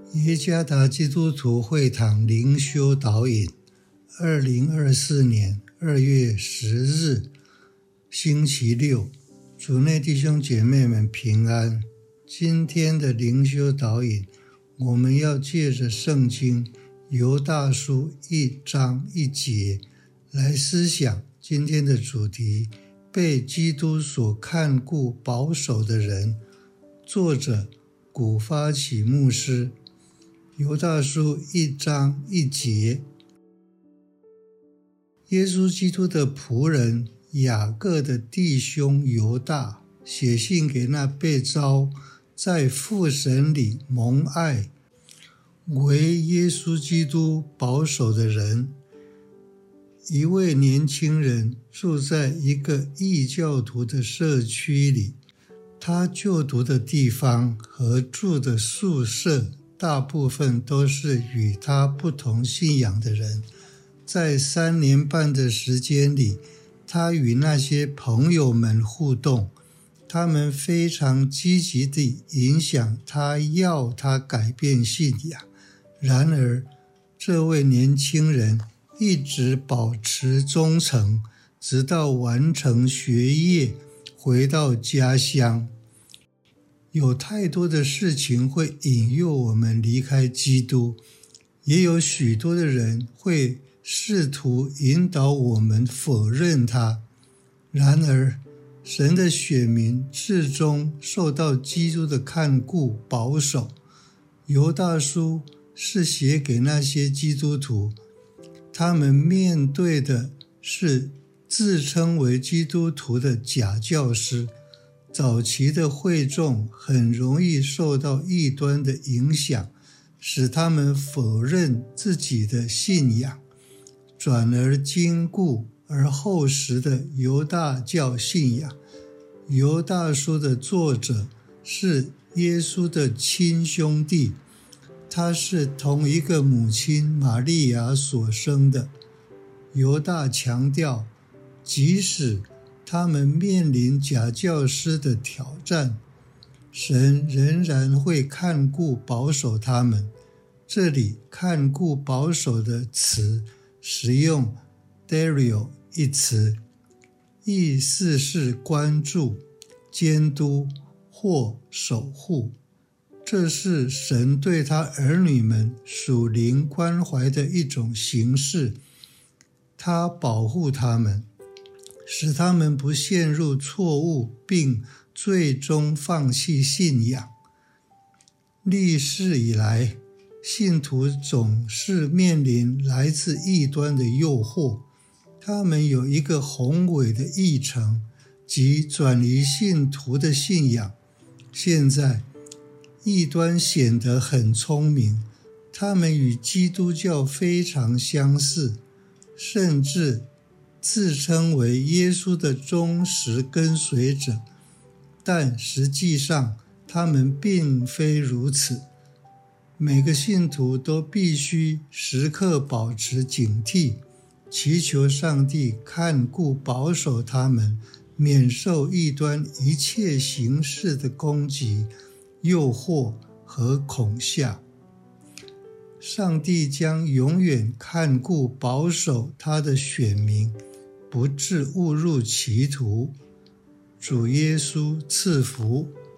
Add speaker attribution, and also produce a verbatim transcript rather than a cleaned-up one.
Speaker 1: 耶加达基督徒会堂灵修导引，二零二四年二月十日，星期六，主内弟兄姐妹们平安。今天的灵修导引，我们要借着圣经犹大书一章一节来思想今天的主题：被基督所看顾保守的人。作者古发起牧师。犹大书一章一节，耶稣基督的仆人雅各的弟兄犹大写信给那被召在父神里蒙爱为耶稣基督保守的人。一位年轻人住在一个异教徒的社区里，他就读的地方和住的宿舍大部分都是与他不同信仰的人。在三年半的时间里，他与那些朋友们互动，他们非常积极地影响他，要他改变信仰。然而，这位年轻人一直保持忠诚，直到完成学业，回到家乡。有太多的事情会引诱我们离开基督，也有许多的人会试图引导我们否认他。然而，神的选民至终受到基督的看顾保守。犹大书是写给那些基督徒，他们面对的是自称为基督徒的假教师。早期的会众很容易受到异端的影响，使他们否认自己的信仰，转而坚固而厚实的犹大教信仰。犹大书的作者是耶稣的亲兄弟，他是同一个母亲玛利亚所生的。犹大强调，即使他们面临假教师的挑战，神仍然会看顾保守他们。这里看顾保守的词使用 dario 一词，意思是关注、监督或守护。这是神对他儿女们属灵关怀的一种形式，他保护他们，使他们不陷入错误，并最终放弃信仰。历世以来，信徒总是面临来自异端的诱惑，他们有一个宏伟的议程，即转离信徒的信仰。现在，异端显得很聪明，他们与基督教非常相似，甚至自称为耶稣的忠实跟随者，但实际上他们并非如此。每个信徒都必须时刻保持警惕，祈求上帝看顾保守他们，免受异端一切形式的攻击、诱惑和恐吓。上帝将永远看顾保守他的选民，不致误入歧途。主耶稣赐福。